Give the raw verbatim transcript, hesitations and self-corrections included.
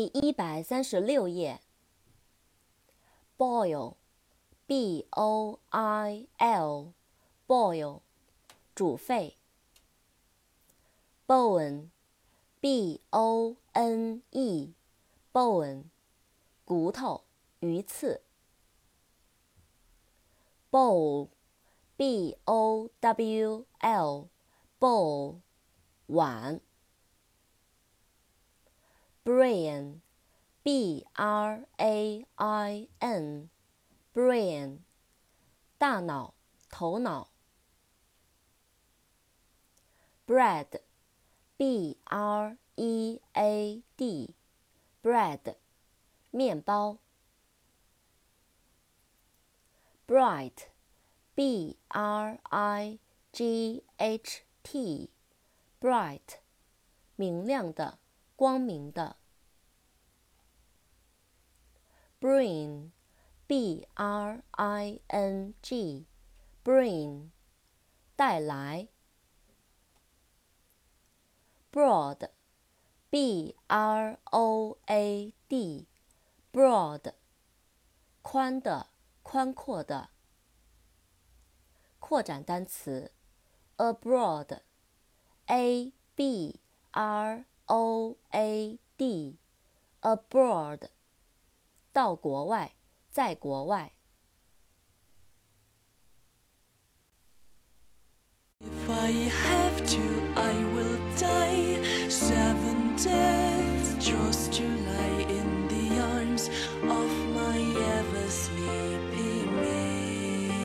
一百三十六页。boil, b o i l, boil, 煮沸。bone, b o n e, bone, 骨头、鱼刺。bowl, b o w l, bowl, 碗。brain, b r a i n, brain, 大脑、头脑。bread, b r e a d, bread, 面包。bright, b r i g h t, bright, 明亮的、光明的。bring, b r i n g, bring, 带来。broad, b r o a d, broad, 宽的、宽阔的。扩展单词 abroad, a b r o a d, abroad, 到国外，在国外。